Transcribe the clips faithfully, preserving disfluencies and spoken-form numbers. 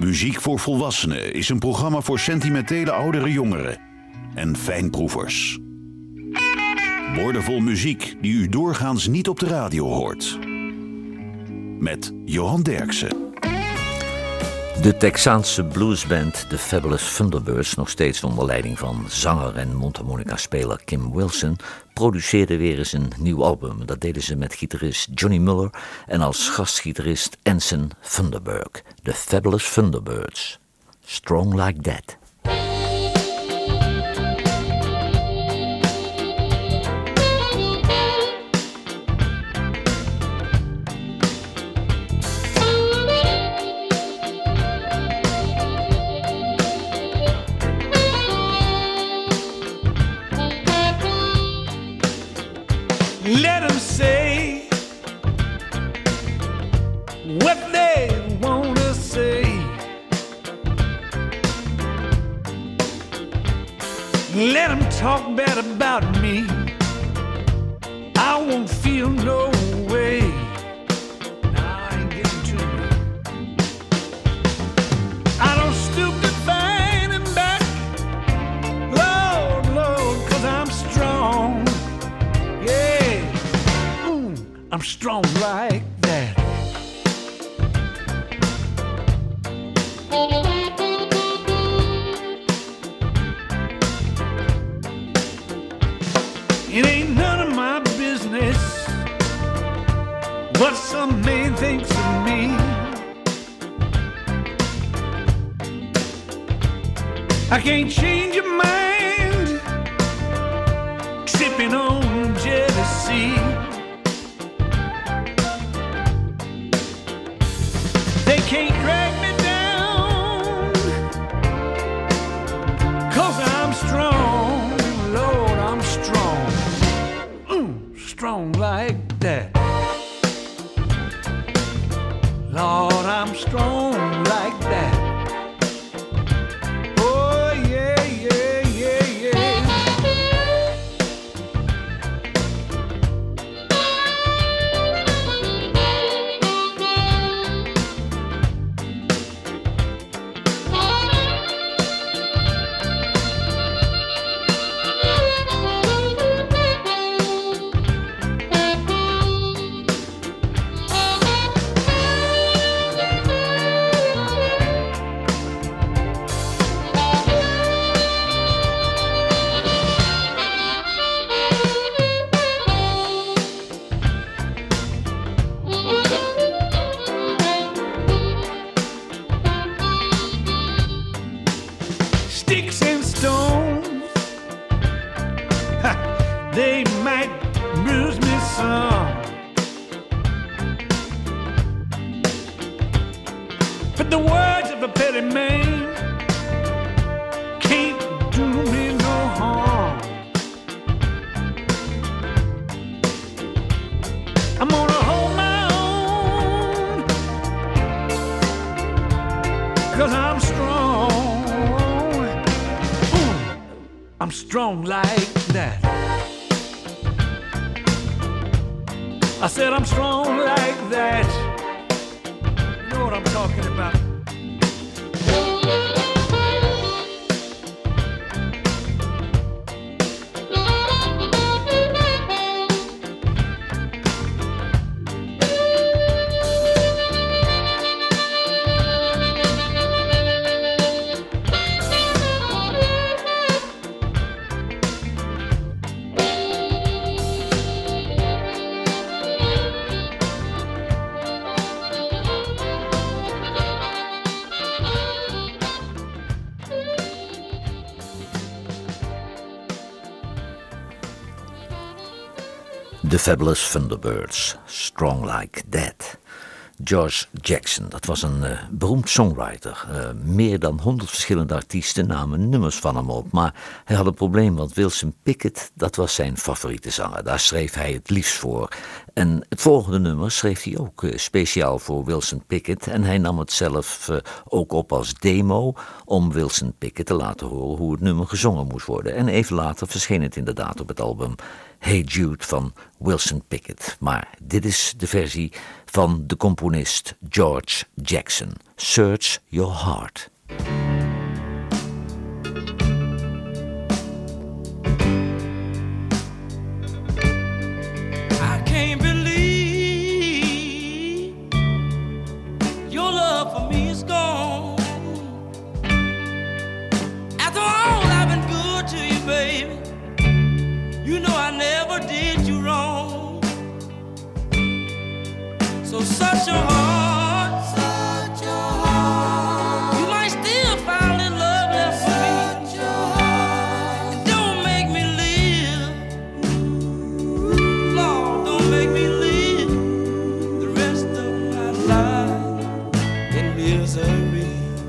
Muziek voor Volwassenen is een programma voor sentimentele oudere jongeren en fijnproevers. Woordenvol muziek die u doorgaans niet op de radio hoort. Met Johan Derksen. De Texaanse bluesband The Fabulous Thunderbirds, nog steeds onder leiding van zanger en mondharmonica-speler Kim Wilson, produceerde weer eens een nieuw album. Dat deden ze met gitarist Johnny Muller en als gastgitarist Anson Thunderberg. The Fabulous Thunderbirds. Strong Like That. Let them say what they want to say. Let them talk bad about me. I won't feel no way. Nah, I ain't getting to me. I don't stoop to fight him back. Lord, Lord, 'cause I'm strong. Yeah. I'm strong like that. It ain't none of my business what some man thinks of me. I can't change your mind, sipping on jealousy. They can't drag me down, 'cause I'm strong, Lord, I'm strong, mm, strong like that. Lord, I'm strong like that. Oh, yeah, yeah, yeah, yeah. Sticks and stones, ha, they might bruise me some, but the words of a petty man can't do me no harm. I'm gonna hold my own, 'cause I'm strong. I'm strong like that. I said I'm strong like that. You know what I'm talking about. The Fabulous Thunderbirds, Strong Like That. George Jackson, dat was een uh, beroemd songwriter. Uh, meer dan honderd verschillende artiesten namen nummers van hem op. Maar hij had een probleem, want Wilson Pickett, dat was zijn favoriete zanger. Daar schreef hij het liefst voor. En het volgende nummer schreef hij ook uh, speciaal voor Wilson Pickett. En hij nam het zelf uh, ook op als demo om Wilson Pickett te laten horen hoe het nummer gezongen moest worden. En even later verscheen het inderdaad op het album Hey Jude van Wilson Pickett. Maar dit is de versie van de componist George Jackson. Search Your Heart. I can't believe your love for me is gone. After all I've been good to you, baby, you know I never did you wrong. So such your heart, such your heart. You might still find in love left for me. Such your heart. Don't make me live, Lord, don't make me live the rest of my life in misery.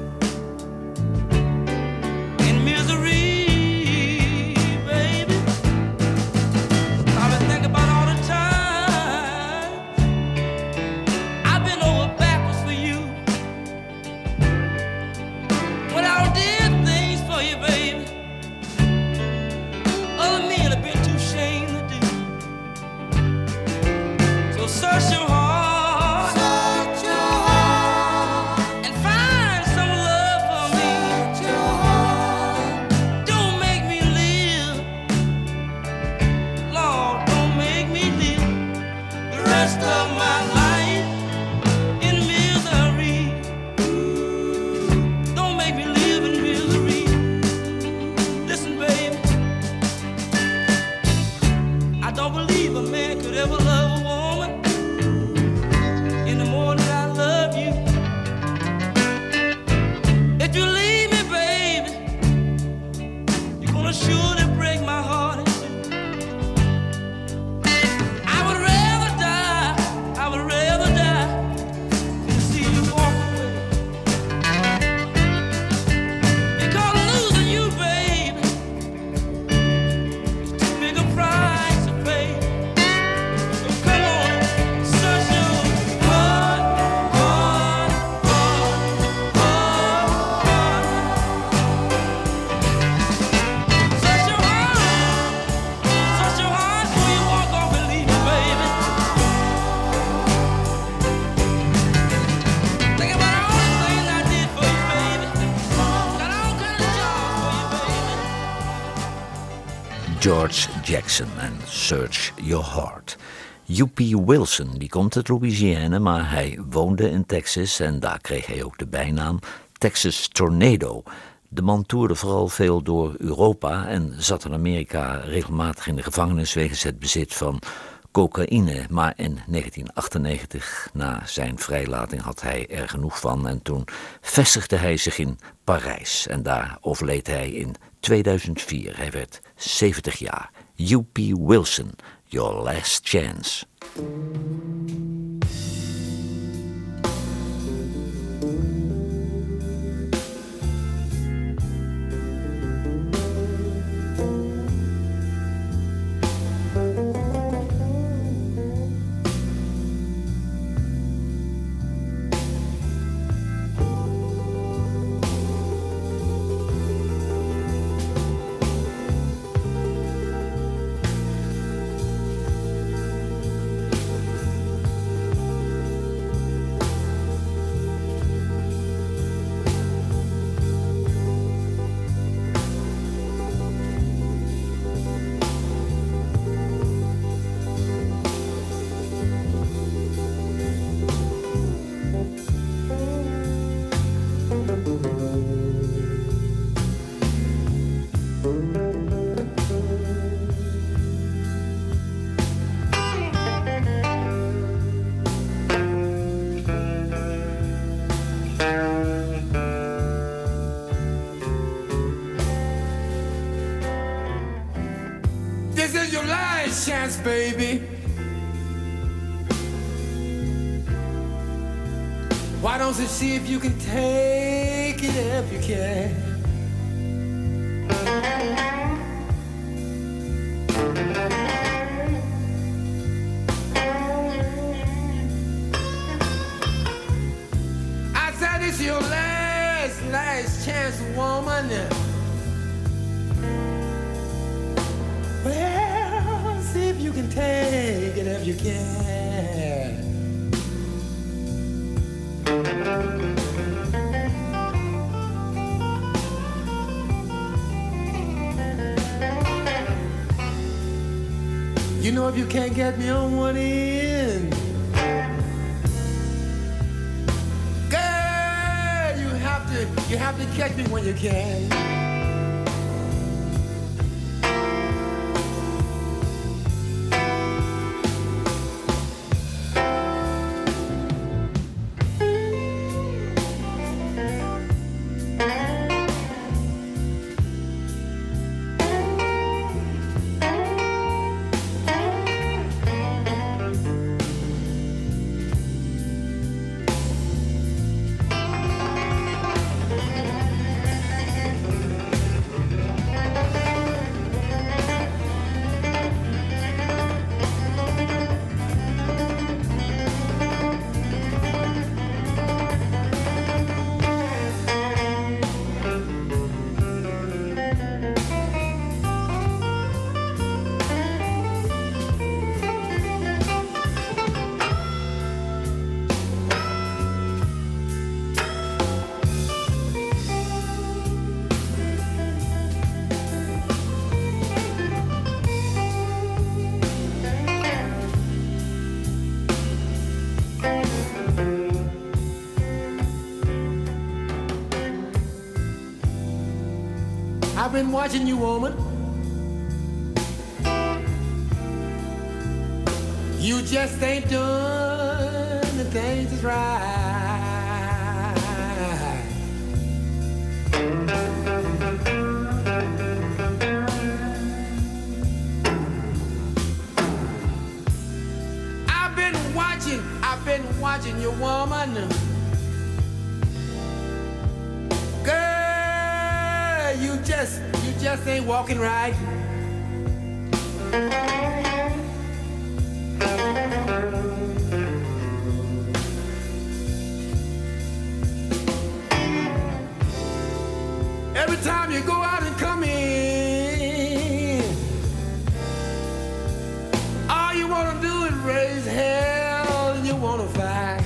In misery. Search your heart, search your heart, and find some love for me. Search your heart. Don't make me live, Lord, don't make me live the rest of my life in misery. Don't make me live in misery. Listen, baby, I don't believe a man could ever love a woman in the morning I love you. If you leave me, baby, you're gonna surely break my heart in two. I would rather die, I would rather die than see you walk away. Because losing you, baby, is too big a price to pay. So come on, search your heart, heart, heart, heart, heart. Search your heart, search your heart before you walk off and leave me, baby. Think about all the things I did for you, baby. Got all kinds of jobs for you, baby. George Jackson en Search Your Heart. U P Wilson, die komt uit Louisiana, maar hij woonde in Texas en daar kreeg hij ook de bijnaam Texas Tornado. De man toerde vooral veel door Europa en zat in Amerika regelmatig in de gevangenis wegens het bezit van cocaïne. Maar in negentien achtennegentig, na zijn vrijlating, had hij er genoeg van en toen vestigde hij zich in Parijs. En daar overleed hij in tweeduizend vier. Hij werd zeventig jaar. U P Wilson, Your Last Chance. This is your last chance, baby. Why don't you see if you can take it if you can? I said it's your last, last chance, woman. Well, see if take it if you can. You know if you can't get me on one end, girl, you have to, you have to catch me when you can. I've been watching you, woman. You just ain't done the things that's right. I've been watching, I've been watching you, woman. You just, you just ain't walking right. Every time you go out and come in, all you wanna do is raise hell and you wanna fight.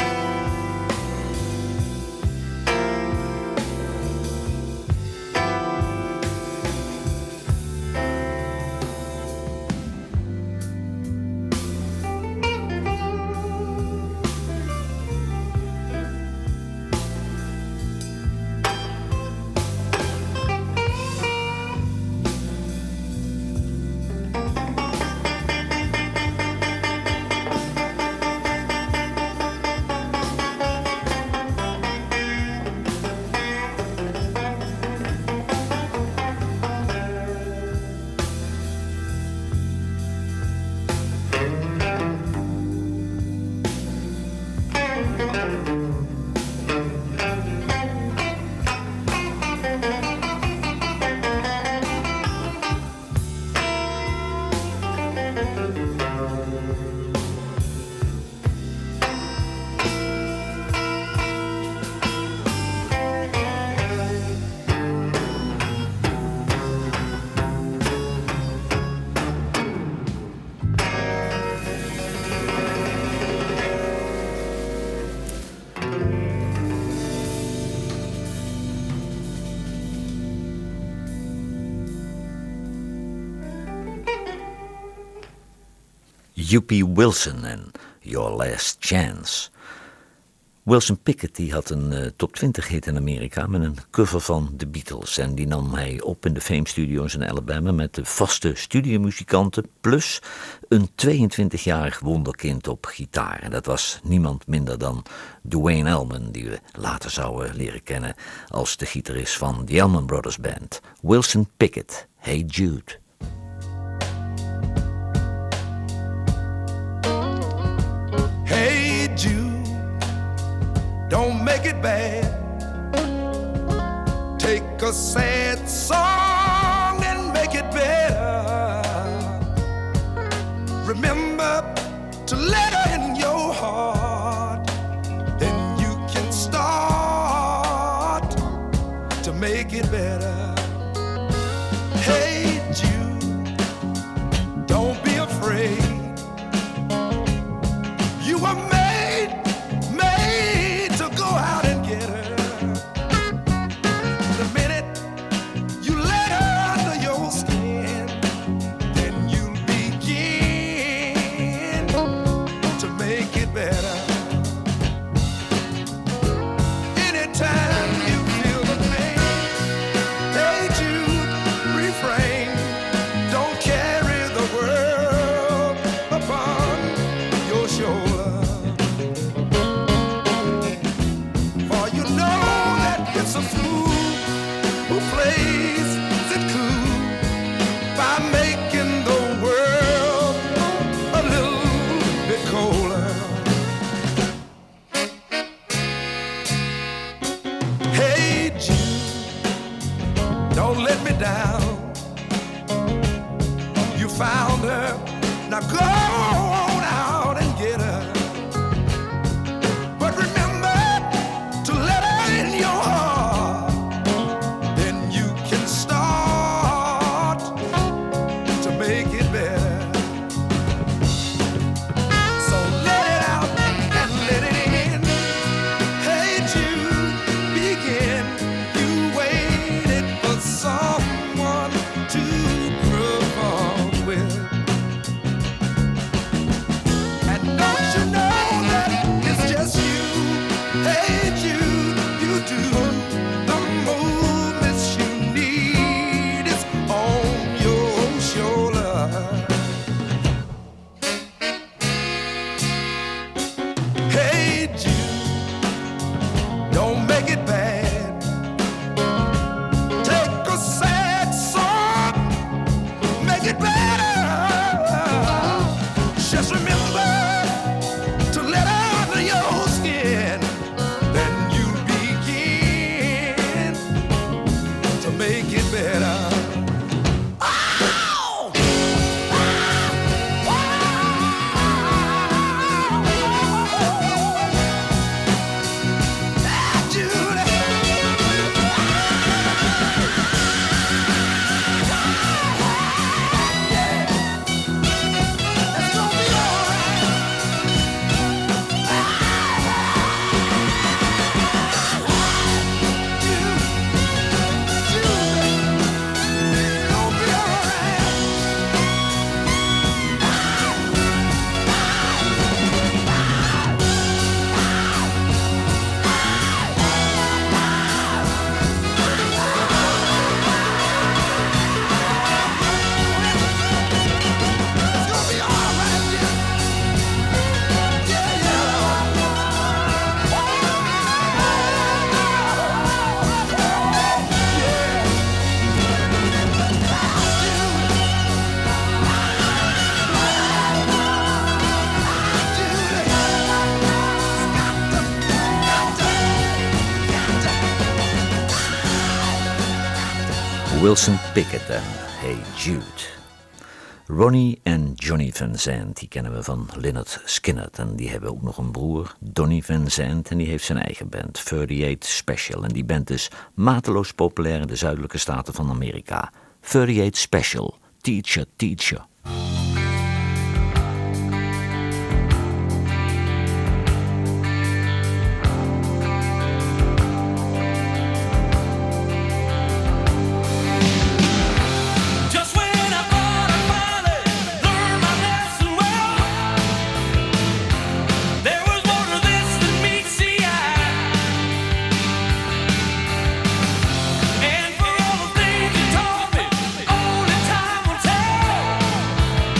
U P Wilson en Your Last Chance. Wilson Pickett die had een uh, top twintig hit in Amerika met een cover van The Beatles. En die nam hij op in de Fame Studios in Alabama met de vaste studiomuzikanten plus een tweeëntwintigjarig wonderkind op gitaar. En dat was niemand minder dan Duane Allman, die we later zouden leren kennen als de gitarist van The Allman Brothers Band. Wilson Pickett, Hey Jude. Hey Jude, don't make it bad. Take a sad song and make it better. Remember to let her in your heart. Then you can start to make it better. Hey Jude, don't be afraid. make it better. Anytime you feel the pain, hey Jude, refrain. Don't carry the world upon your shoulder. For you know that it's a fool who plays it cool by making the world a little bit colder. Hey Jude, don't let me down. You found her, now go on out and get her. But remember to let her in your heart. Then you can start to make it better. So let it out and let it in. Hey Jude, begin. You waited for someone to perform with. And don't you know that it's just you? Hey Jude, you do the movements you need is on your shoulder. Hey Jude, don't make it bad. Take a sad song, make it better. Just remember to let out your skin. Then you begin to make it better. Ow! Ah, Judy. It's gonna be all right. It'll be all right. It's gonna be all right, yeah. Yeah, Wilson Pickett en Hey Jude. Ronnie en Johnny Van Zandt, die kennen we van Lynyrd Skynyrd. En die hebben ook nog een broer, Donny Van Zandt. En die heeft zijn eigen band, thirty-eight Special. En die band is mateloos populair in de zuidelijke staten van Amerika. thirty-eight Special, Teacher, Teacher. Just when I thought I finally learned my lesson well, there was more to this than meets the eye. And for all the things you taught me, only time will tell.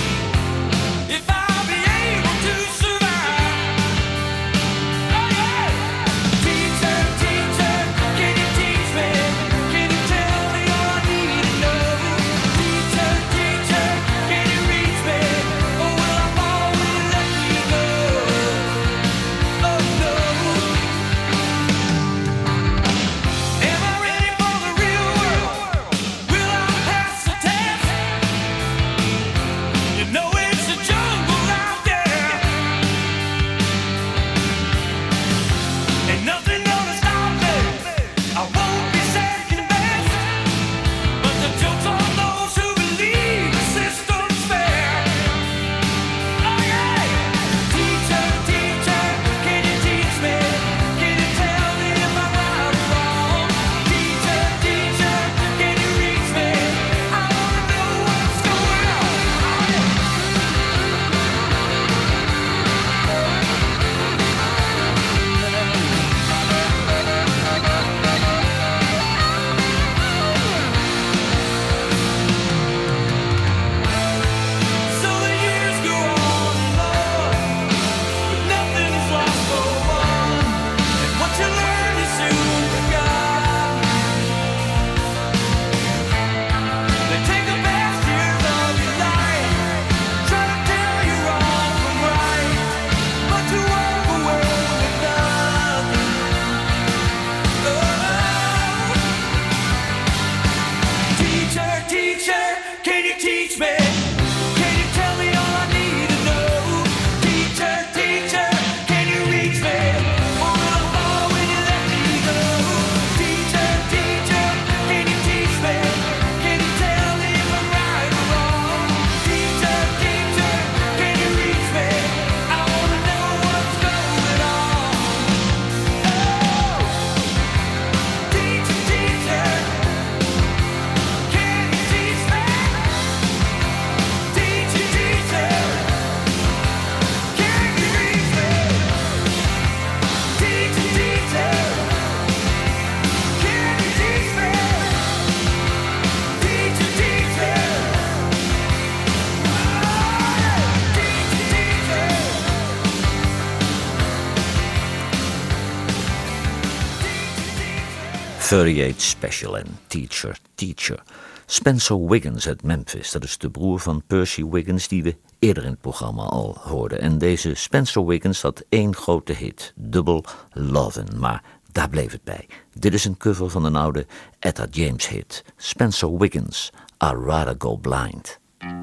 thirty-eight Special en Teacher, Teacher. Spencer Wiggins uit Memphis, dat is de broer van Percy Wiggins die we eerder in het programma al hoorden. En deze Spencer Wiggins had één grote hit, Double Lovin', maar daar bleef het bij. Dit is een cover van een oude Etta James hit, Spencer Wiggins, I'd Rather Go Blind.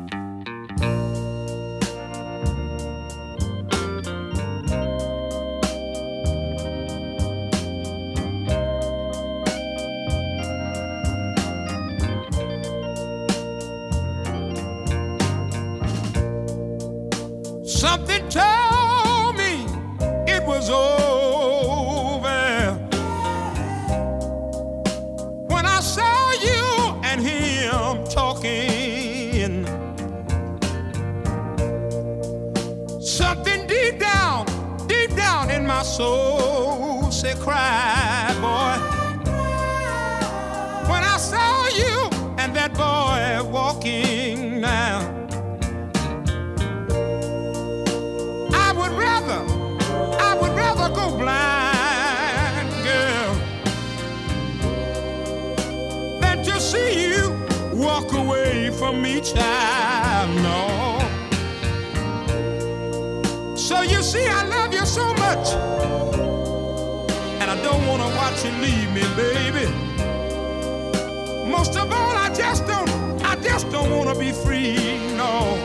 Something told me it was over when I saw you and him talking. Something deep down, deep down in my soul said, cry, boy. When I saw you and that boy walking now. Go blind, girl, than to see you walk away from me, child, no. So you see, I love you so much, and I don't want to watch you leave me, baby. Most of all, I just don't, I just don't want to be free, no.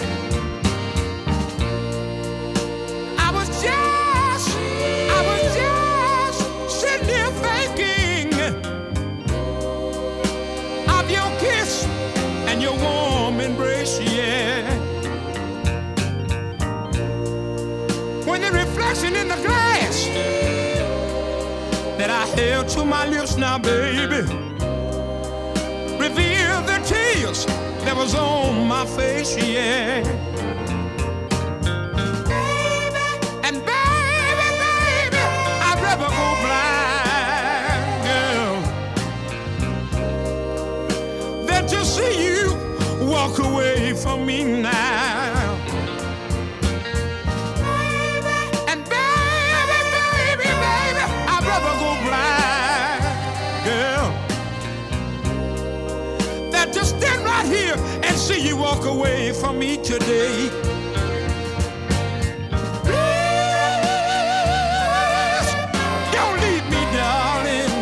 I was just your warm embrace, yeah. When the reflection in the glass that I held to my lips now, baby, revealed the tears that was on my face, yeah. Baby, and baby, baby, I'd rather go blind, girl, than to see you walk away from me now. Baby, and baby, baby, baby, I'd rather go blind, girl, than to stand right here and see you walk away from me today. Please, don't leave me, darling.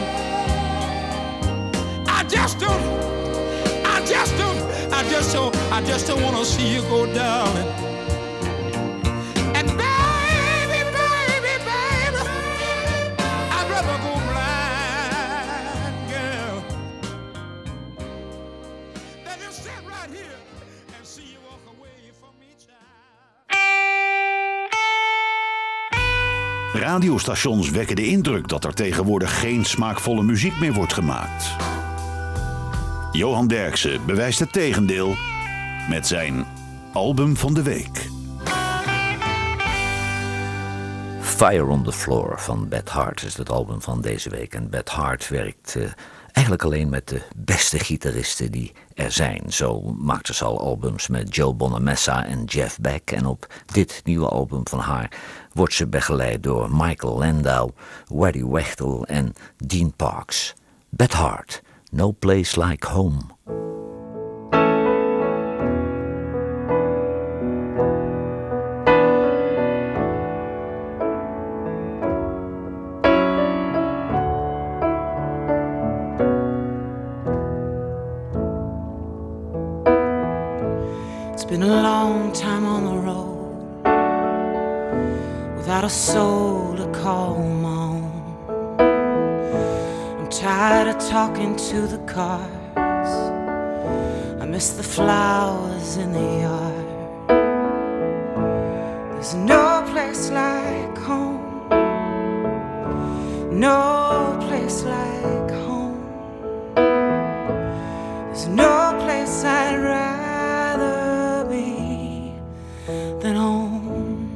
I just don't, I just don't I just don't, I just don't want to see you go down. And baby, baby, baby, I'd rather go blind, girl, than to sit right here and see you walk away from me, child. Radiostations wekken de indruk dat er tegenwoordig geen smaakvolle muziek meer wordt gemaakt. Johan Derksen bewijst het tegendeel met zijn album van de week. Fire on the Floor van Beth Hart is het album van deze week. En Beth Hart werkt uh, eigenlijk alleen met de beste gitaristen die er zijn. Zo maakte ze al albums met Joe Bonamessa en Jeff Beck. En op dit nieuwe album van haar wordt ze begeleid door Michael Landau, Waddy Wechtel en Dean Parks. Beth Hart. No place like home. It's been a long time on the road without a soul to call my own. Tired of talking to the cars. I miss the flowers in the yard. There's no place like home. No place like home. There's no place I'd rather be than home.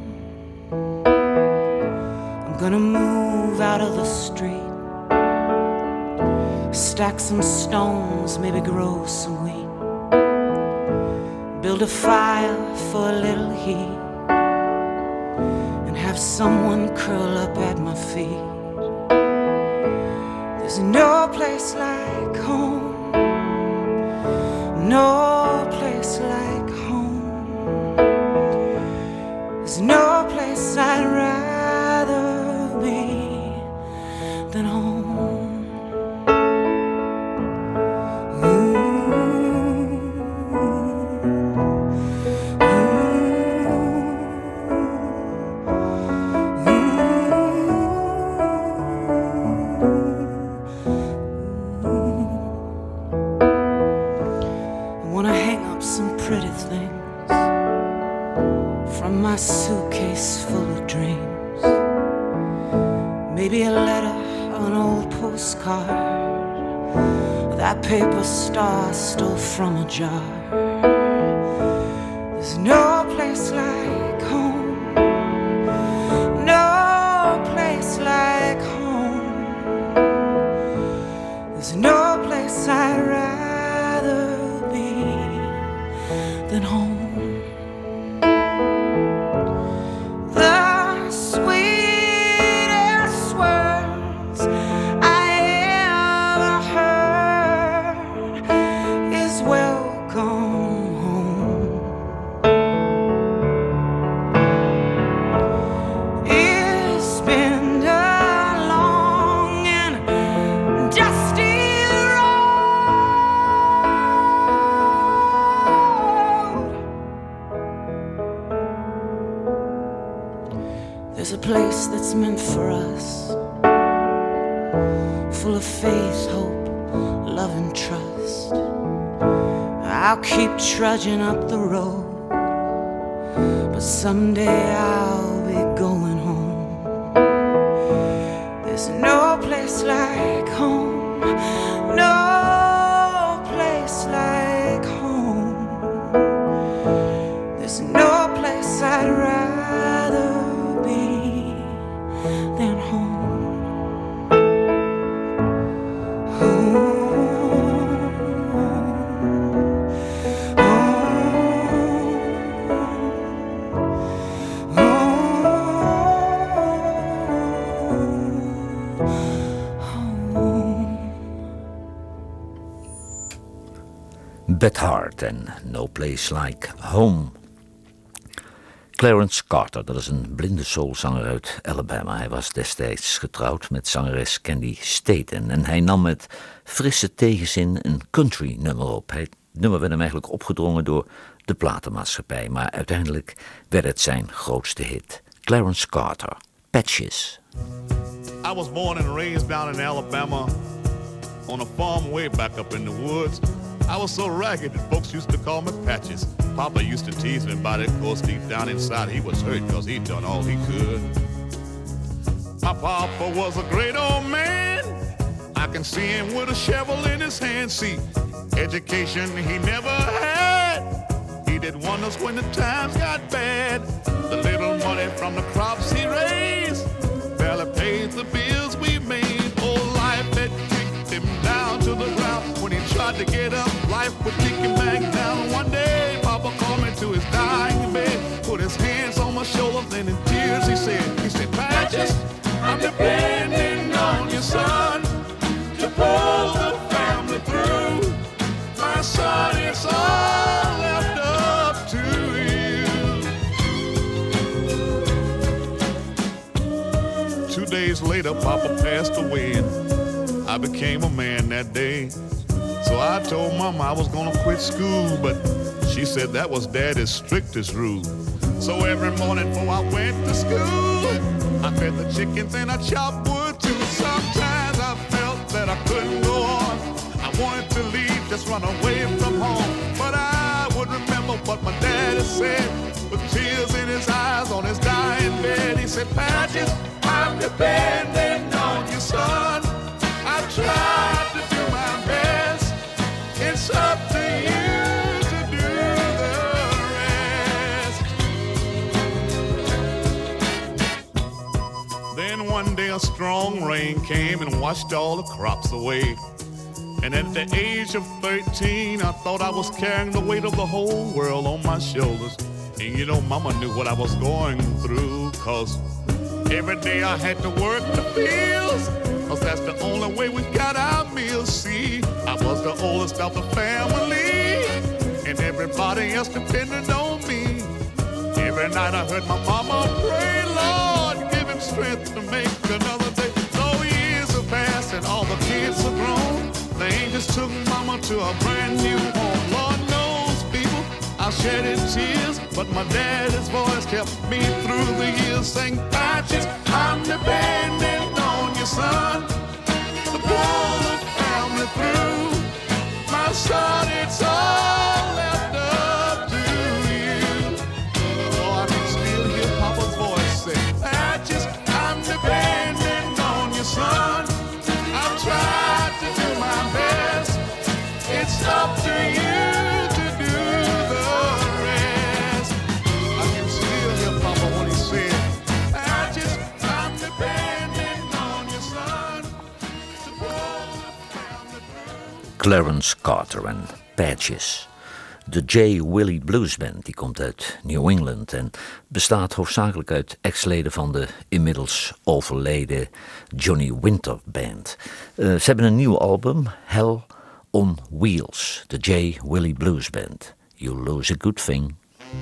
I'm gonna move out of the street, stack some stones, maybe grow some wheat, build a fire for a little heat, and have someone curl up at my feet. There's no place like home, no place like home. There's no place I'd rather be than home. My suitcase full of dreams, maybe a letter, an old postcard, that paper star I stole from a jar. There's no place like home, no place like home. There's no place I'd rather be than home. Place that's meant for us, full of faith, hope, love and trust. I'll keep trudging up the road, but someday I'll be going home. There's no place like home, no place like home. There's no place I'd rather than home. Home, home, home. Beth Hart en No Place Like Home. Clarence Carter, dat is een blinde soulzanger uit Alabama. Hij was destijds getrouwd met zangeres Candy Staten. En hij nam met frisse tegenzin een country nummer op. Het nummer werd hem eigenlijk opgedrongen door de platenmaatschappij. Maar uiteindelijk werd het zijn grootste hit. Clarence Carter, Patches. I was born and raised down in Alabama on a farm way back up in the woods. I was so ragged that folks used to call me Patches. Papa used to tease me about it, of course deep down inside he was hurt because he'd done all he could. My papa was a great old man. I can see him with a shovel in his hand. See, education he never had. He did wonders when the times got bad. The little money from the crops he raised barely paid the bills we made. Oh, life had kicked him down to the ground. When he tried to get up, life would kick him back down. One day, Papa called me to his dying bed, put his hands on my shoulders, and in tears he said, he said, Patches, I'm depending on you, son, to pull the family through. My son, it's all left up to you. Two days later, Papa passed away, and I became a man that day. So I told Mama I was gonna quit school, but she said that was Daddy's strictest rule. So every morning before I went to school, I fed the chickens and I chopped wood too. Sometimes I felt that I couldn't go on. I wanted to leave, just run away from home. But I would remember what my daddy said, with tears in his eyes on his dying bed. He said, Patches, I'm depending on you, son. I tried to do my best. It's up to you to do the rest. Then one day a strong rain came and washed all the crops away. And at the age of thirteen, I thought I was carrying the weight of the whole world on my shoulders. And you know, Mama knew what I was going through, cause every day I had to work the fields. cause that's the only way we got our meals. See, I was the oldest of the family, and everybody else depended on me. Every night I heard my mama pray, Lord, give him strength to make another day. So years have passed and all the kids are grown. The angels took mama to a brand new home. Lord knows, people, I shedded tears, but my daddy's voice kept me through the years. Saying, Patches, I'm depending on your son to pull the family through. My son, it's all left up to you. Oh, I can still hear Papa's voice say, Patches, I'm depending on your son. I've tried to do my best. It's up to you to do the rest. I can still hear Papa when he said, Patches, I'm depending on your son to pull the family through. Clarence Carter en Patches. De J. Willie Blues Band die komt uit New England en bestaat hoofdzakelijk uit ex-leden van de inmiddels overleden Johnny Winter Band. Uh, ze hebben een nieuw album, Hell on Wheels, de J. Willie Blues Band. You lose a good thing.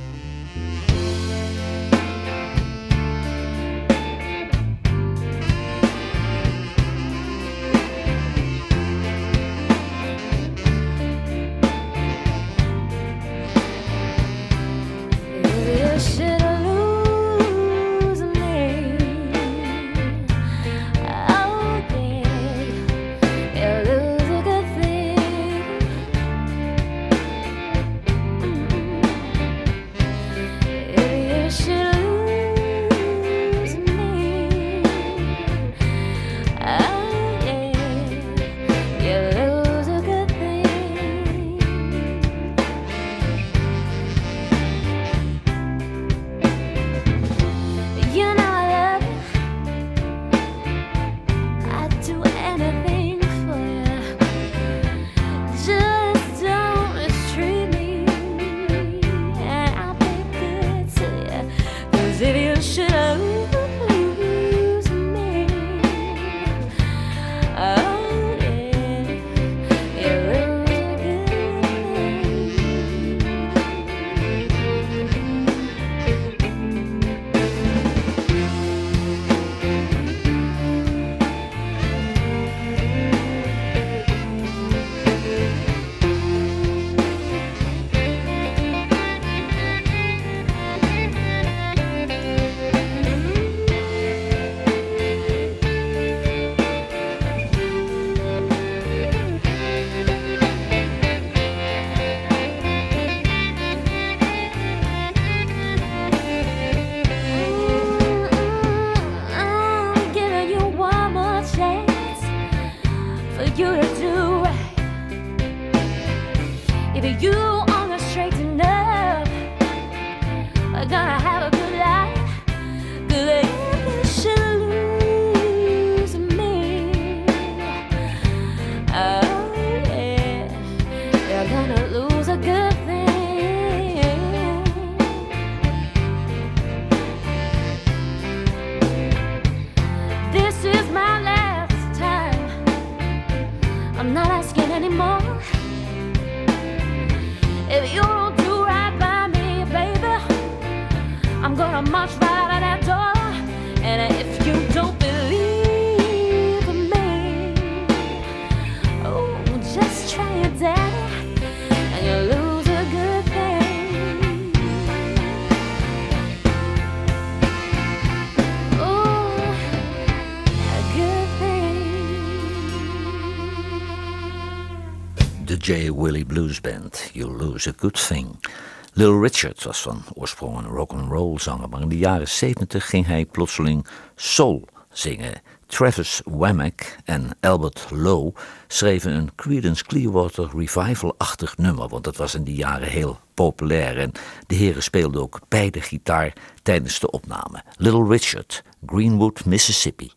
J. Willie Blues Band, You Lose a Good Thing. Little Richard was van oorsprong een rock'n'roll zanger, maar in de jaren zeventig ging hij plotseling soul zingen. Travis Wammack en Albert Lowe schreven een Creedence Clearwater Revival-achtig nummer, want dat was in die jaren heel populair en de heren speelden ook beide gitaar tijdens de opname. Little Richard, Greenwood, Mississippi.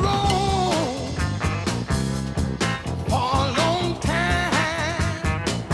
For a long time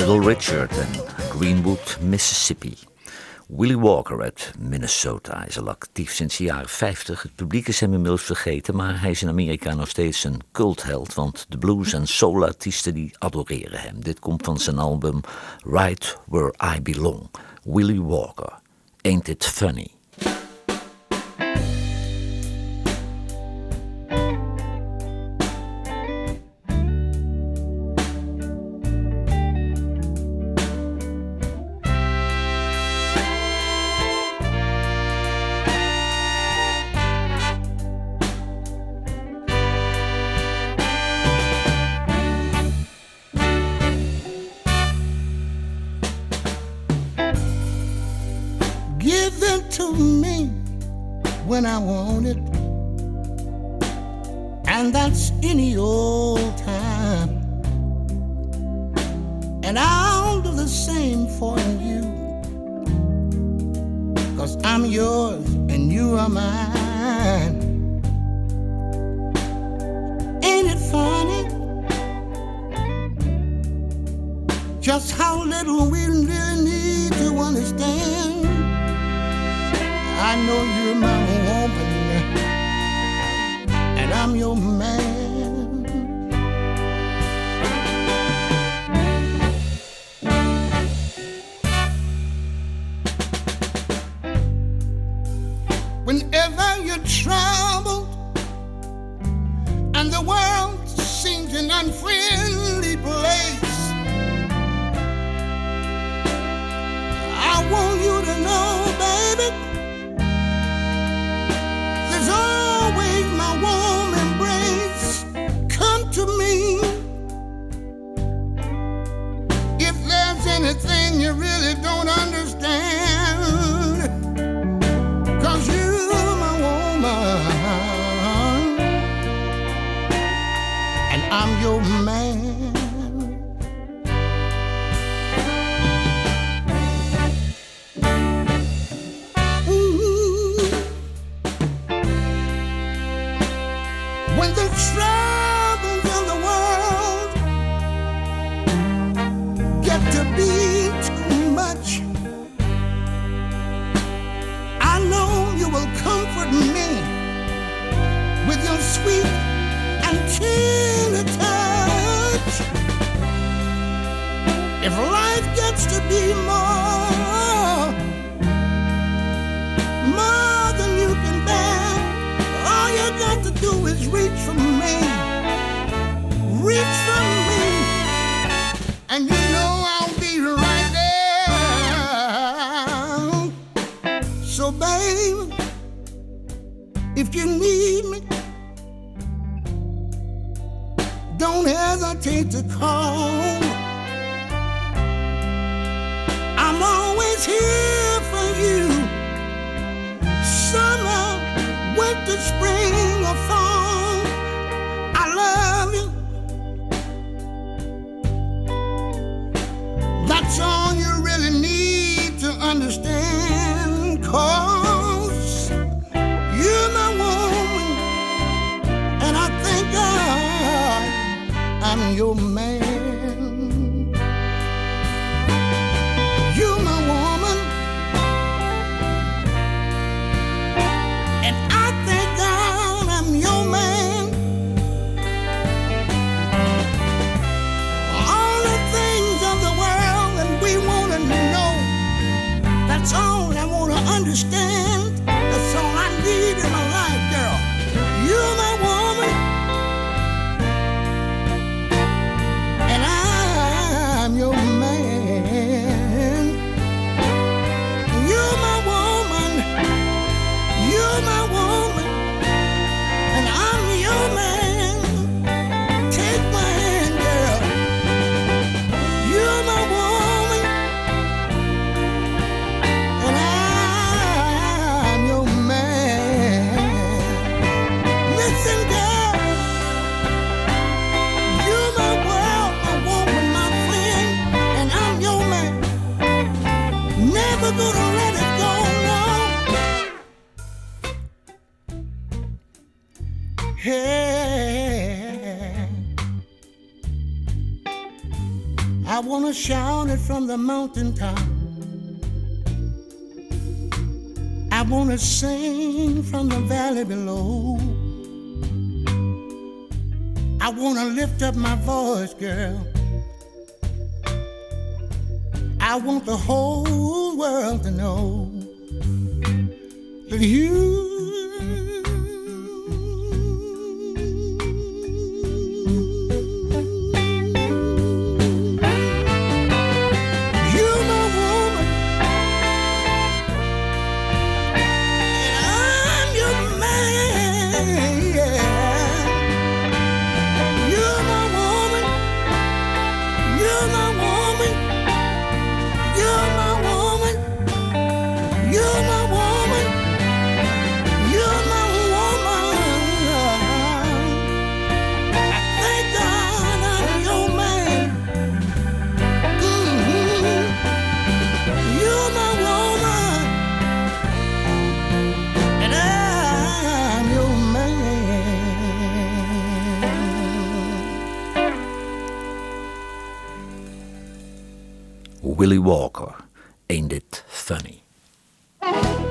Little Richard en Greenwood, Mississippi. Willie Walker uit Minnesota is al actief sinds de jaren vijftig. Het publiek is hem inmiddels vergeten, maar hij is in Amerika nog steeds een cultheld, want de blues- en soul-artiesten die adoreren hem. Dit komt van zijn album Right Where I Belong. Willie Walker, Ain't It Funny? To me when I want it, and that's any old time, and I'll do the same for you, 'cause I'm yours and you are mine. Ain't it funny just how little we really need to understand? I know you're my woman, and I'm your man. Whenever you're troubled and the world seems an unfriendly place, I want you to know, baby, always my warm embrace. Come to me if there's anything you really don't understand, 'cause you're my woman and I'm your man. When the troubles of the world get to be too much, I know you will comfort me with your sweet and tender touch. If life gets to be more, more than you can bear, all you got to do is reach for me, reach for me, and you know I'll be right there. So babe, if you need me, don't hesitate to call. I'm always here for you, summer, winter, spring, or fall. I love you. That's all you really need to understand, 'cause you're my woman, and I thank God I'm your man. You're my woman, and I thank God I'm your man. All the things of the world that we want to know, that's all I want to understand. That's all I need in my life, girl. You're my woman, and I'm your man. You're my woman, you're my woman, and I'm your man. Take my hand, girl. You're my woman, and I'm your man. Listen, girl, you're my world, my woman, my friend, and I'm your man. Never gonna let it go, no. Hey, I I wanna shout it from the mountaintop. I wanna sing from the valley below. I wanna lift up my voice, girl. I want the whole world to know that you Willie Walker, Ain't It Funny?